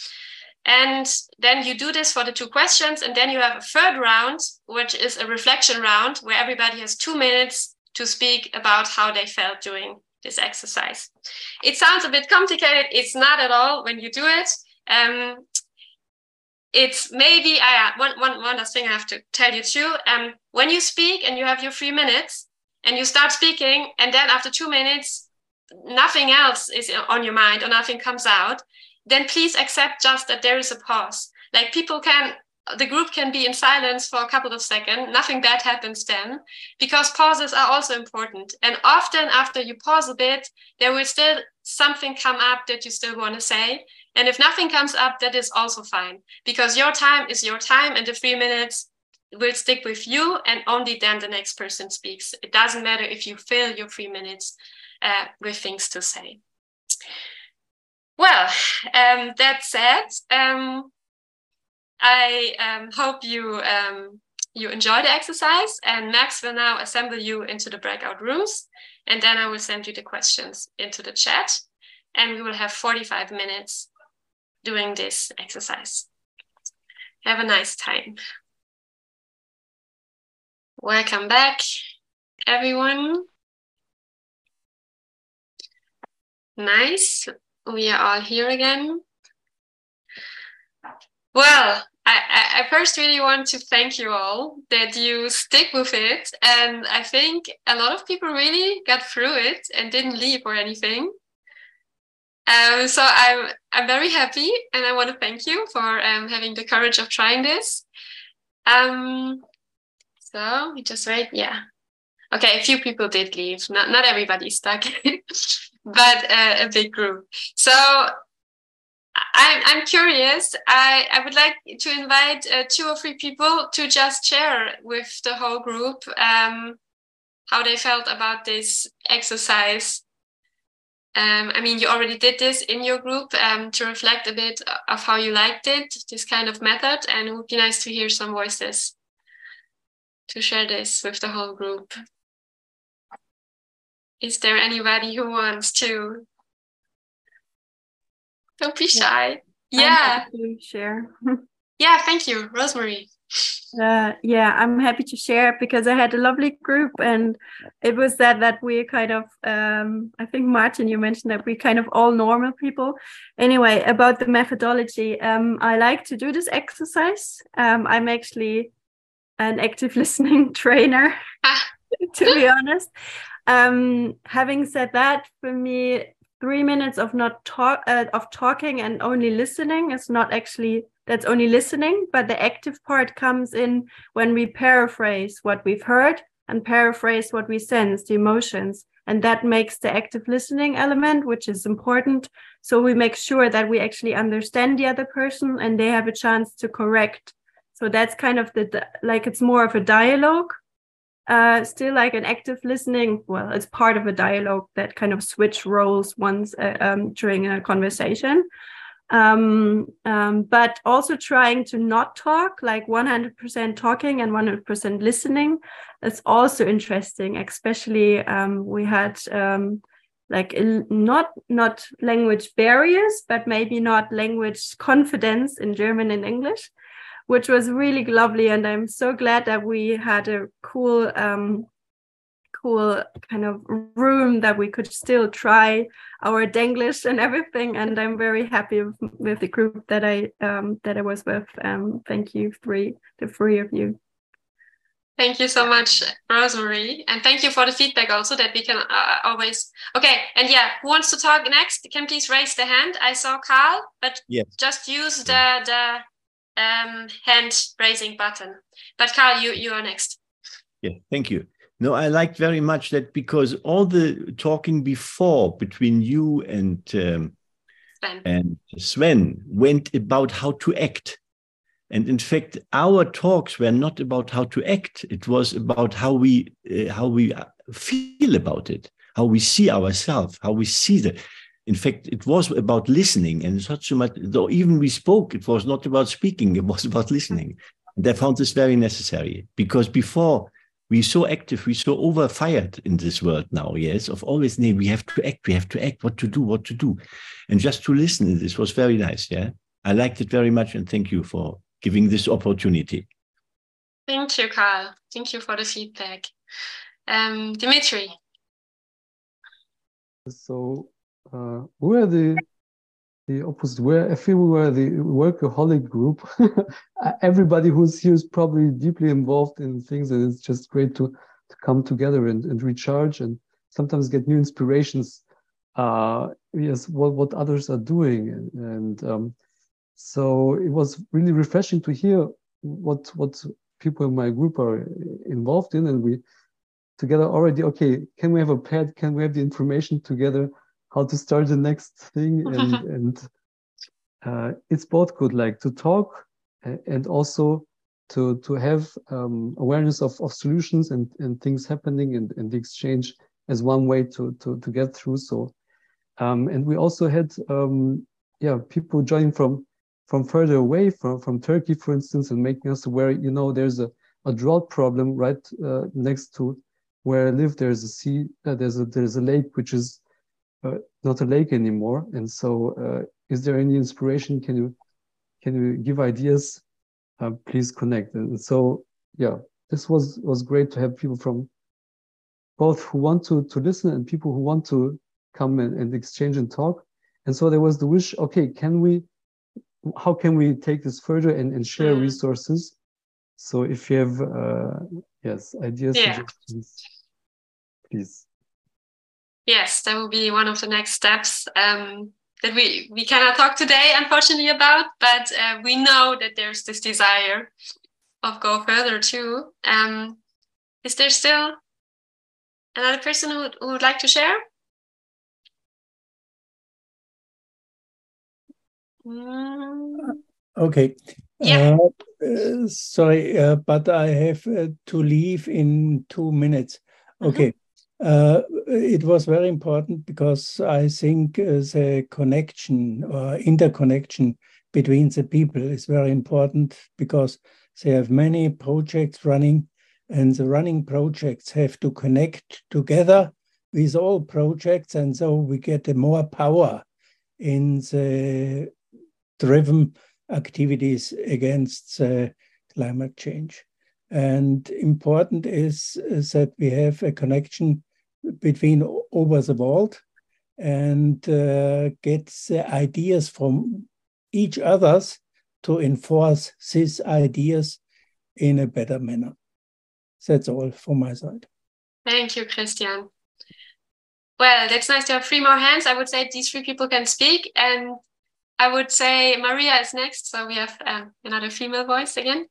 And then you do this for the two questions. And then you have a third round, which is a reflection round where everybody has two minutes to speak about how they felt doing this exercise. It sounds a bit complicated. It's not at all when you do it. Um, it's maybe, uh, one, one, one last thing I have to tell you too. Um, when you speak and you have your three minutes and you start speaking, and then after two minutes, nothing else is on your mind or nothing comes out, then please accept just that there is a pause. Like people can, the group can be in silence for a couple of seconds. Nothing bad happens then, because pauses are also important. And often after you pause a bit, there will still something come up that you still want to say. And if nothing comes up, that is also fine, because your time is your time and the three minutes will stick with you, and only then the next person speaks. It doesn't matter if you fill your three minutes uh, with things to say. Well, um, that said, um, I um, hope you um, you enjoy the exercise, and Max will now assemble you into the breakout rooms, and then I will send you the questions into the chat, and we will have forty-five minutes doing this exercise. Have a nice time. Welcome back, everyone. Nice. We are all here again. Well, I, I first really want to thank you all that you stick with it. And I think a lot of people really got through it and didn't leave or anything. Um, so I'm, I'm very happy, and I want to thank you for um, having the courage of trying this. Um, so we just wait. Yeah. Okay, a few people did leave. Not, not everybody stuck, but uh, a big group. So I'm, I'm curious. I, I would like to invite uh, two or three people to just share with the whole group um, how they felt about this exercise. Um, I mean, you already did this in your group um, to reflect a bit of how you liked it, this kind of method, and it would be nice to hear some voices to share this with the whole group. Is there anybody who wants to? Don't be shy. Yeah. I'm happy to share. Yeah, thank you, Rosemary. Uh, yeah, I'm happy to share because I had a lovely group, and it was that that we kind of, um, I think Martin, you mentioned that we kind of all normal people. Anyway, about the methodology, um, I like to do this exercise. Um, I'm actually an active listening trainer, to be honest. Um, having said that, for me, three minutes of not talk uh, of talking and only listening is not actually, that's only listening, but the active part comes in when we paraphrase what we've heard and paraphrase what we sense, the emotions, and that makes the active listening element, which is important. So we make sure that we actually understand the other person and they have a chance to correct. So that's kind of the, like, it's more of a dialogue. Uh, still like an active listening, well, it's part of a dialogue that kind of switch roles once uh, um, during a conversation. Um, um, but also trying to not talk, like one hundred percent talking and one hundred percent listening. It's also interesting, especially um, we had um, like not, not language barriers, but maybe not language confidence in German and English, which was really lovely. And I'm so glad that we had a cool, um, cool kind of room that we could still try our Denglish and everything. And I'm very happy with, with the group that I um, that I was with. Um, thank you, three, the three of you. Thank you so much, Rosemary. And thank you for the feedback also, that we can uh, always... Okay, and yeah, who wants to talk next? Can please raise the hand. I saw Carl, but yes, just use the... the Um, hand raising button. But Carl, you, you are next. Yeah, thank you. No, I liked very much that, because all the talking before between you and um, Sven. and Sven went about how to act. And in fact, our talks were not about how to act. It was about how we uh, how we feel about it, how we see ourselves, how we see the... In fact, it was about listening, and it's not so much, though even we spoke, it was not about speaking, it was about listening. And I found this very necessary, because before we so active, we so overfired in this world now, yes, of always, nee, we have to act, we have to act, what to do, what to do. And just to listen, this was very nice, yeah. I liked it very much, and thank you for giving this opportunity. Thank you, Carl. Thank you for the feedback. Um, Dimitri. So, Uh, we're the the opposite. We're, I feel we were the workaholic group. Everybody who's here is probably deeply involved in things, and it's just great to, to come together and, and recharge, and sometimes get new inspirations. Uh, yes, what what others are doing, and, and um, so it was really refreshing to hear what what people in my group are involved in, and we together already. Okay, can we have a pad? Can we have the information together? How to start the next thing, and and uh, it's both good, like to talk and also to to have um, awareness of, of solutions and, and things happening, and, and the exchange as one way to to to get through. So, um, and we also had um, yeah people joining from from further away, from from Turkey, for instance, and making us aware. You know, there's a a drought problem right uh, next to where I live. There's a sea, uh, there's a there's a lake which is uh, not a lake anymore. And so, uh, is there any inspiration? Can you can you give ideas? Uh, please connect. And so, yeah, this was was great to have people from both who want to to listen and people who want to come and, and exchange and talk. And so there was the wish. Okay, can we? How can we take this further and, and share Mm. resources? So if you have uh, yes ideas, Yeah. suggestions, please. Yes, that will be one of the next steps um, that we, we cannot talk today, unfortunately, about, but uh, we know that there's this desire of go further too. Um, is there still another person who, who would like to share? Mm. Okay. Yeah. Uh, uh, sorry, uh, but I have uh, to leave in two minutes. Okay. Uh, it was very important because I think uh, the connection or interconnection between the people is very important because they have many projects running, and the running projects have to connect together with all projects, and so we get more power in the driven activities against uh, climate change. And important is, is that we have a connection between over the world and uh, get the ideas from each others to enforce these ideas in a better manner. That's all from my side. Thank you, Christian. Well, that's nice to have three more hands. I would say these three people can speak, and I would say Maria is next. So we have um, another female voice again.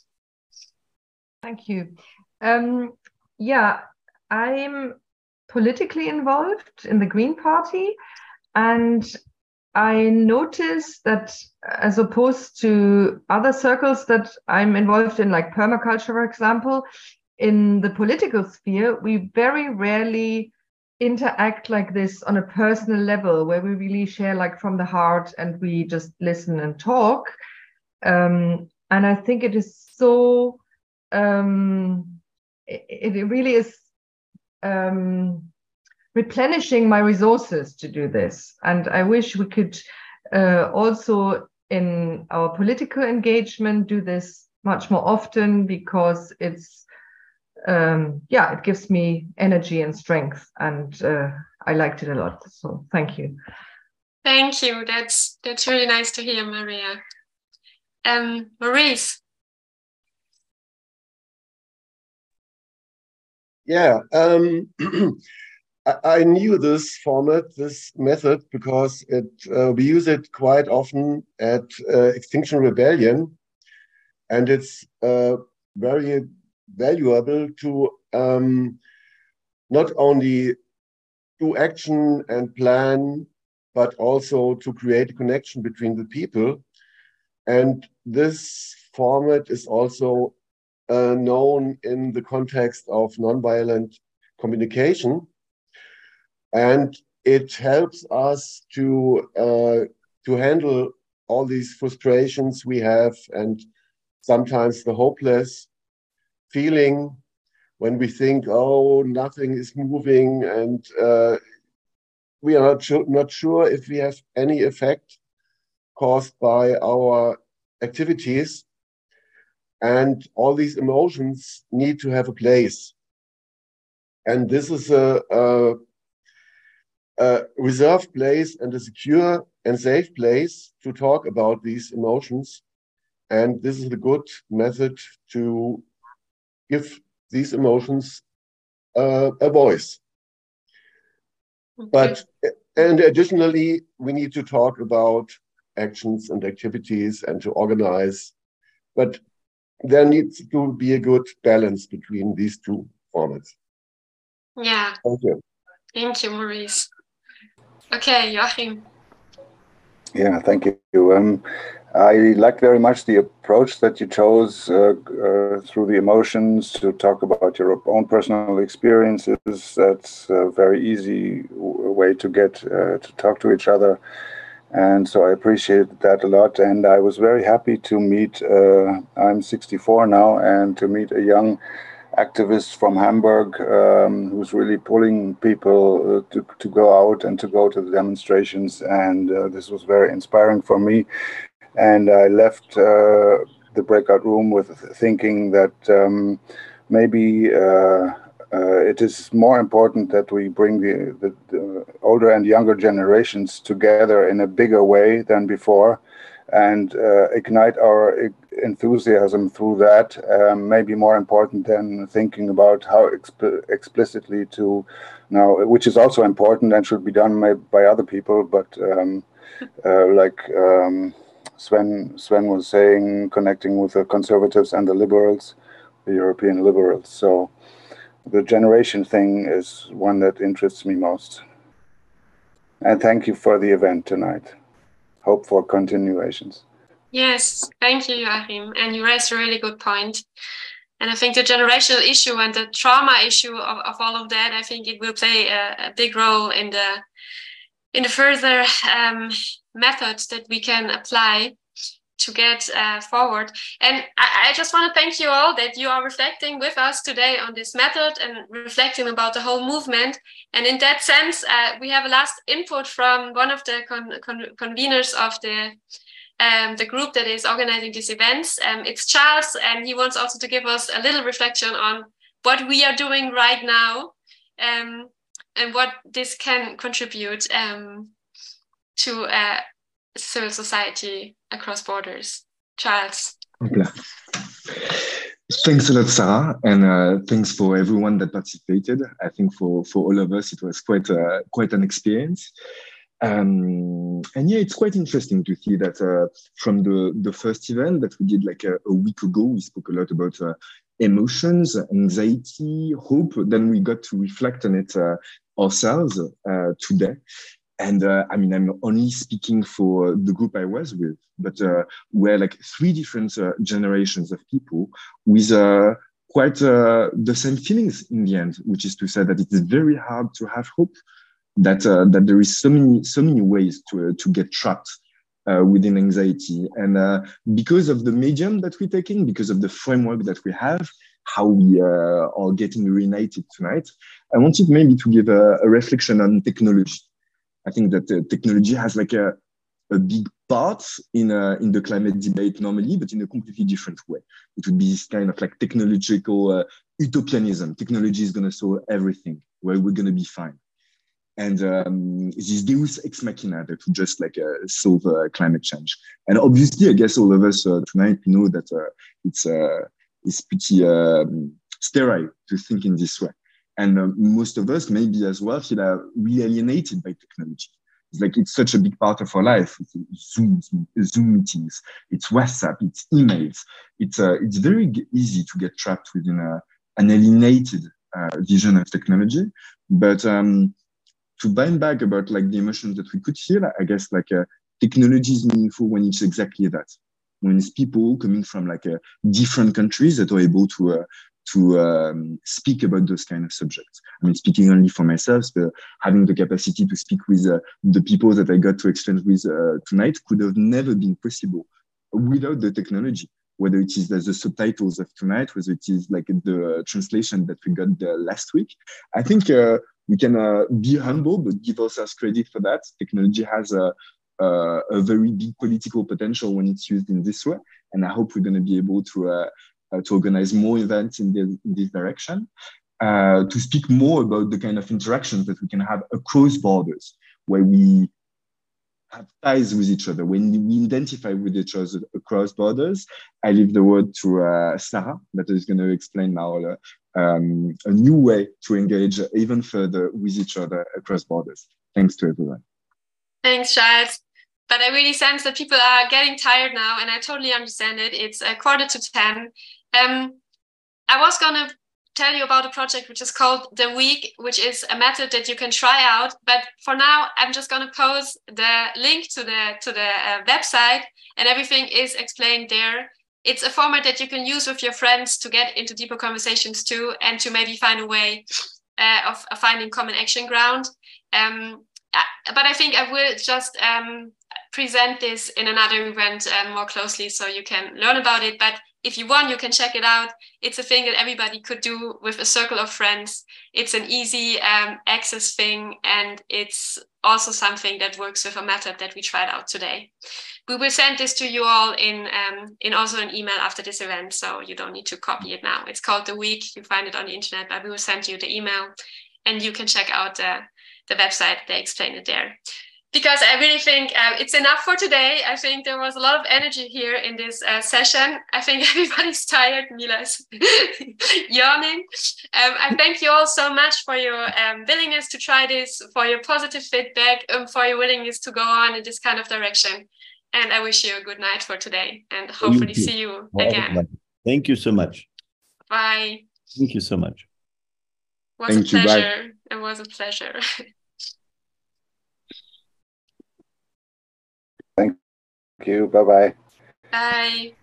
Thank you. Um, yeah, I'm politically involved in the Green Party, and I noticed that as opposed to other circles that I'm involved in, like permaculture, for example, in the political sphere, we very rarely interact like this on a personal level, where we really share like from the heart and we just listen and talk. Um, and I think it is so, um, it, it really is um, replenishing my resources to do this. And I wish we could uh, also in our political engagement do this much more often, because it's Um, yeah, it gives me energy and strength, and uh, I liked it a lot. So thank you. Thank you. That's that's really nice to hear, Maria. Um, Maurice. Yeah, um, I, I knew this format, this method, because it uh, we use it quite often at uh, Extinction Rebellion, and it's uh, very valuable to um, not only do action and plan, but also to create a connection between the people. And this format is also uh, known in the context of nonviolent communication. And it helps us to, uh, to handle all these frustrations we have, and sometimes the hopeless feeling when we think, oh, nothing is moving, and uh, we are not sure, not sure if we have any effect caused by our activities. And all these emotions need to have a place. And this is a, a, a reserved place and a secure and safe place to talk about these emotions. And this is a good method to give these emotions uh, a voice. Okay. But, and additionally, we need to talk about actions and activities and to organize. But there needs to be a good balance between these two formats. Yeah. Thank you. Thank you, Maurice. Okay, Joachim. Yeah, thank you. Um, I liked very much the approach that you chose uh, uh, through the emotions to talk about your own personal experiences. That's a very easy w- way to get uh, to talk to each other. And so I appreciated that a lot. And I was very happy to meet, uh, I'm sixty-four now, and to meet a young activist from Hamburg um, who's really pulling people uh, to, to go out and to go to the demonstrations. And uh, this was very inspiring for me. And I left uh, the breakout room with thinking that um, maybe uh, uh, it is more important that we bring the, the, the older and younger generations together in a bigger way than before, and uh, ignite our enthusiasm through that. Um, maybe more important than thinking about how exp- explicitly to now, which is also important and should be done by other people, but um, uh, like. Um, Sven Sven was saying, connecting with the conservatives and the liberals, the European liberals. So the generation thing is one that interests me most. And thank you for the event tonight. Hope for continuations. Yes, thank you, Joachim. And you raised a really good point. And I think the generational issue and the trauma issue of, of all of that, I think it will play a, a big role in the in the further um, methods that we can apply to get uh, forward. And I, I just want to thank you all that you are reflecting with us today on this method and reflecting about the whole movement. And in that sense, uh, we have a last input from one of the con con conveners of the um, the group that is organizing these events. Um, it's Charles, and he wants also to give us a little reflection on what we are doing right now, um, and what this can contribute um, to uh, civil society across borders. Charles. Okay. Thanks a lot, Sarah, and uh, thanks for everyone that participated. I think for, for all of us, it was quite uh, quite an experience. Um, and yeah, it's quite interesting to see that uh, from the, the first event that we did like a, a week ago, we spoke a lot about uh, emotions, anxiety, hope. Then we got to reflect on it uh, ourselves uh, today. And uh, I mean, I'm only speaking for the group I was with, but uh, we're like three different uh, generations of people with uh, quite uh, the same feelings in the end, which is to say that it is very hard to have hope, that uh, that there is so many so many ways to uh, to get trapped uh, within anxiety. And uh, because of the medium that we're taking, because of the framework that we have, how we uh, are getting reunited tonight, I wanted maybe to give a, a reflection on technology. I think that uh, technology has like a, a big part in uh, in the climate debate normally, but in a completely different way. It would be this kind of like technological uh, utopianism. Technology is going to solve everything, where we're going to be fine. And um, this deus ex machina that would just like uh, solve uh, climate change. And obviously, I guess all of us uh, tonight know that uh, it's uh, it's pretty um, sterile to think in this way. And uh, most of us, maybe as well, feel uh, really alienated by technology. It's like it's such a big part of our life. It's Zoom, Zoom meetings, it's WhatsApp, it's emails. It's uh, it's very easy to get trapped within a, an alienated uh, vision of technology. But um, to bind back about like the emotions that we could feel, I guess like uh, technology is meaningful when it's exactly that. When it's people coming from like uh, different countries that are able to uh, to um, speak about those kind of subjects. I mean, speaking only for myself, but having the capacity to speak with uh, the people that I got to exchange with uh, tonight could have never been possible without the technology, whether it is the, the subtitles of tonight, whether it is like the translation that we got uh, last week. I think uh, we can uh, be humble, but give ourselves credit for that. Technology has a, a, a very big political potential when it's used in this way. And I hope we're going to be able to uh, Uh, to organize more events in, the, in this direction, uh, to speak more about the kind of interactions that we can have across borders, where we have ties with each other, when we identify with each other across borders. I leave the word to uh, Sarah, that is going to explain now uh, um, a new way to engage even further with each other across borders. Thanks to everyone. Thanks, Charles. But I really sense that people are getting tired now, and I totally understand it. It's a quarter to ten. Um, I was gonna tell you about a project which is called The Week, which is a method that you can try out. But for now, I'm just going to post the link to the to the uh, website, and everything is explained there. It's a format that you can use with your friends to get into deeper conversations too, and to maybe find a way uh, of, of finding common action ground. Um, but I think I will just um, present this in another event uh, more closely so you can learn about it. But if you want, you can check it out. It's a thing that everybody could do with a circle of friends. It's an easy um, access thing, and it's also something that works with a method that we tried out today. We will send this to you all in um, in also an email after this event, so you don't need to copy it now. It's called The Week. You find it on the internet, but we will send you the email, and you can check out the, the website. They explain it there. Because I really think um, it's enough for today. I think there was a lot of energy here in this uh, session. I think everybody's tired. Mila's yawning. Um, I thank you all so much for your um, willingness to try this, for your positive feedback, um, for your willingness to go on in this kind of direction. And I wish you a good night for today, and hopefully you see you again. Thank you so much. Bye. Thank you so much. It was Thank a pleasure. You, it was a pleasure. Thank you. Bye-bye. Bye.